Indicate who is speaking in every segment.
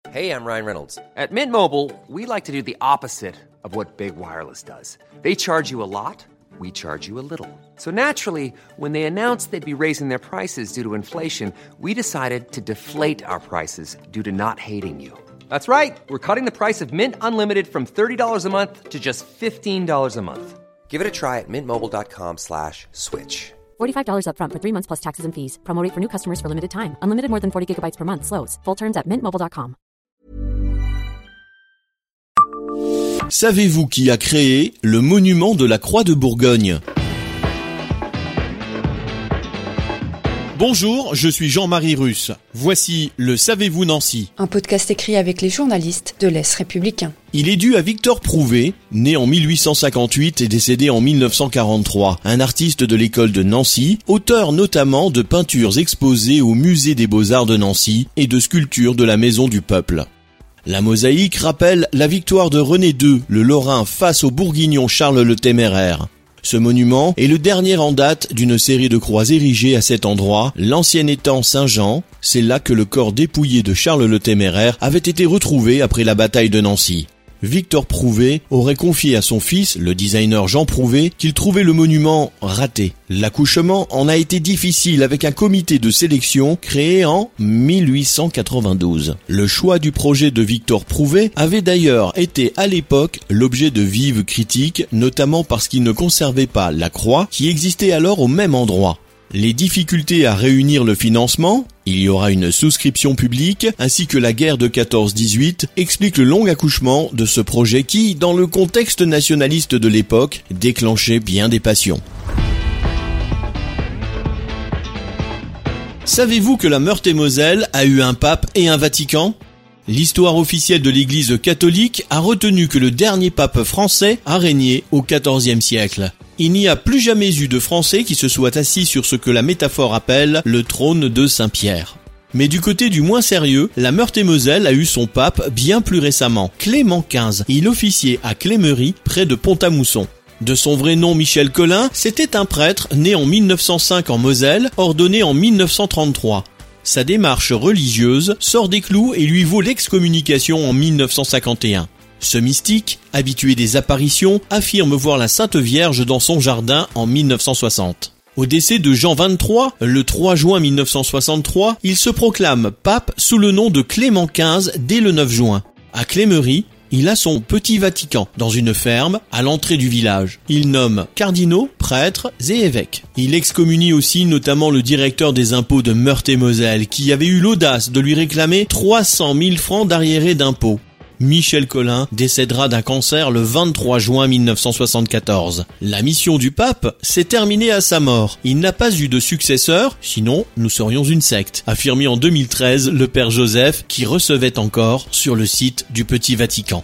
Speaker 1: Hey, I'm Ryan Reynolds. At Mint Mobile, we like to do the opposite of what Big Wireless does. They charge you a lot, we charge you a little. So naturally, when they announced they'd be raising their prices due to inflation, we decided to deflate our prices due to not hating you. That's right. We're cutting the price of Mint Unlimited from $30 a month to just $15 a month. Give it a try at mintmobile.com/switch.
Speaker 2: $45 up front for 3 months plus taxes and fees. Promo rate for new customers for limited time. Unlimited more than 40 gigabytes per month. Slows full terms at mintmobile.com.
Speaker 3: Savez-vous qui a créé le monument de la Croix de Bourgogne ? Bonjour, je suis Jean-Marie Russe. Voici le Savez-vous Nancy ?
Speaker 4: Un podcast écrit avec les journalistes de l'Est républicain.
Speaker 3: Il est dû à Victor Prouvé, né en 1858 et décédé en 1943, un artiste de l'école de Nancy, auteur notamment de peintures exposées au Musée des Beaux-Arts de Nancy et de sculptures de la Maison du Peuple. La mosaïque rappelle la victoire de René II, le Lorrain, face au Bourguignon Charles le Téméraire. Ce monument est le dernier en date d'une série de croix érigées à cet endroit, l'ancien étang Saint-Jean. C'est là que le corps dépouillé de Charles le Téméraire avait été retrouvé après la bataille de Nancy. Victor Prouvé aurait confié à son fils, le designer Jean Prouvé, qu'il trouvait le monument raté. L'accouchement en a été difficile avec un comité de sélection créé en 1892. Le choix du projet de Victor Prouvé avait d'ailleurs été à l'époque l'objet de vives critiques, notamment parce qu'il ne conservait pas la croix qui existait alors au même endroit. Les difficultés à réunir le financement, il y aura une souscription publique, ainsi que la guerre de 14-18 expliquent le long accouchement de ce projet qui, dans le contexte nationaliste de l'époque, déclenchait bien des passions. Savez-vous que la Meurthe-et-Moselle a eu un pape et un Vatican ? L'histoire officielle de l'Église catholique a retenu que le dernier pape français a régné au XIVe siècle. Il n'y a plus jamais eu de Français qui se soit assis sur ce que la métaphore appelle le trône de Saint-Pierre. Mais du côté du moins sérieux, la Meurthe-et-Moselle a eu son pape bien plus récemment, Clément XV. Il officiait à Clémery, près de Pont-à-Mousson. De son vrai nom Michel Collin, c'était un prêtre né en 1905 en Moselle, ordonné en 1933. Sa démarche religieuse sort des clous et lui vaut l'excommunication en 1951. Ce mystique, habitué des apparitions, affirme voir la Sainte Vierge dans son jardin en 1960. Au décès de Jean XXIII, le 3 juin 1963, il se proclame pape sous le nom de Clément XV dès le 9 juin. À Clémery, il a son petit Vatican dans une ferme à l'entrée du village. Il nomme cardinaux, prêtres et évêques. Il excommunie aussi notamment le directeur des impôts de Meurthe-et-Moselle qui avait eu l'audace de lui réclamer 300 000 francs d'arriérés d'impôts. Michel Collin décédera d'un cancer le 23 juin 1974. La mission du pape s'est terminée à sa mort. Il n'a pas eu de successeur, sinon nous serions une secte, affirmé en 2013 le père Joseph qui recevait encore sur le site du Petit Vatican.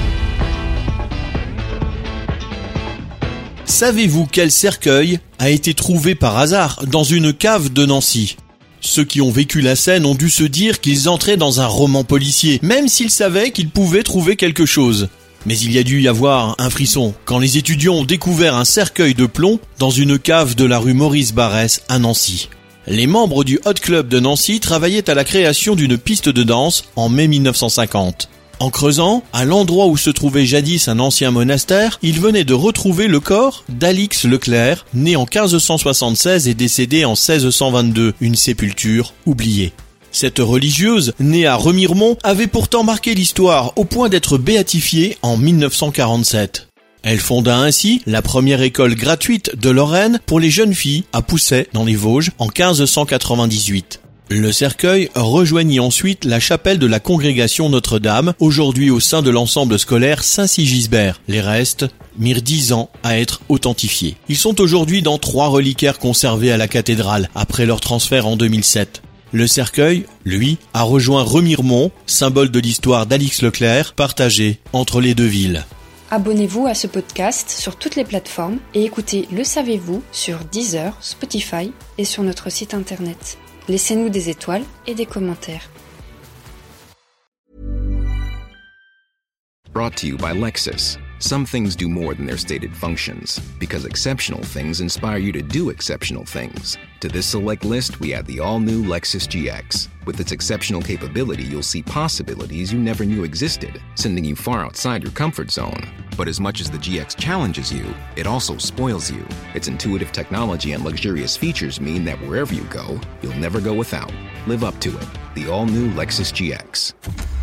Speaker 3: Savez-vous quel cercueil a été trouvé par hasard dans une cave de Nancy ? Ceux qui ont vécu la scène ont dû se dire qu'ils entraient dans un roman policier, même s'ils savaient qu'ils pouvaient trouver quelque chose. Mais il y a dû y avoir un frisson quand les étudiants ont découvert un cercueil de plomb dans une cave de la rue Maurice Barrès à Nancy. Les membres du Hot Club de Nancy travaillaient à la création d'une piste de danse en mai 1950. En creusant, à l'endroit où se trouvait jadis un ancien monastère, ils venaient de retrouver le corps d'Alix Leclerc, né en 1576 et décédé en 1622, une sépulture oubliée. Cette religieuse, née à Remiremont, avait pourtant marqué l'histoire au point d'être béatifiée en 1947. Elle fonda ainsi la première école gratuite de Lorraine pour les jeunes filles à Pousset, dans les Vosges, en 1598. Le cercueil rejoignit ensuite la chapelle de la congrégation Notre-Dame, aujourd'hui au sein de l'ensemble scolaire Saint-Sigisbert. Les restes mirent 10 ans à être authentifiés. Ils sont aujourd'hui dans 3 reliquaires conservés à la cathédrale, après leur transfert en 2007. Le cercueil, lui, a rejoint Remiremont, symbole de l'histoire d'Alix Leclerc, partagé entre les deux villes.
Speaker 4: Abonnez-vous à ce podcast sur toutes les plateformes et écoutez Le Savez-vous sur Deezer, Spotify et sur notre site internet. Laissez-nous des étoiles et des commentaires.
Speaker 5: Brought to you by Lexus. Some things do more than their stated functions, because exceptional things inspire you to do exceptional things. To this select list, we add the all-new Lexus GX. With its exceptional capability, you'll see possibilities you never knew existed, sending you far outside your comfort zone. But as much as the GX challenges you, it also spoils you. Its intuitive technology and luxurious features mean that wherever you go, you'll never go without. Live up to it. The all-new Lexus GX.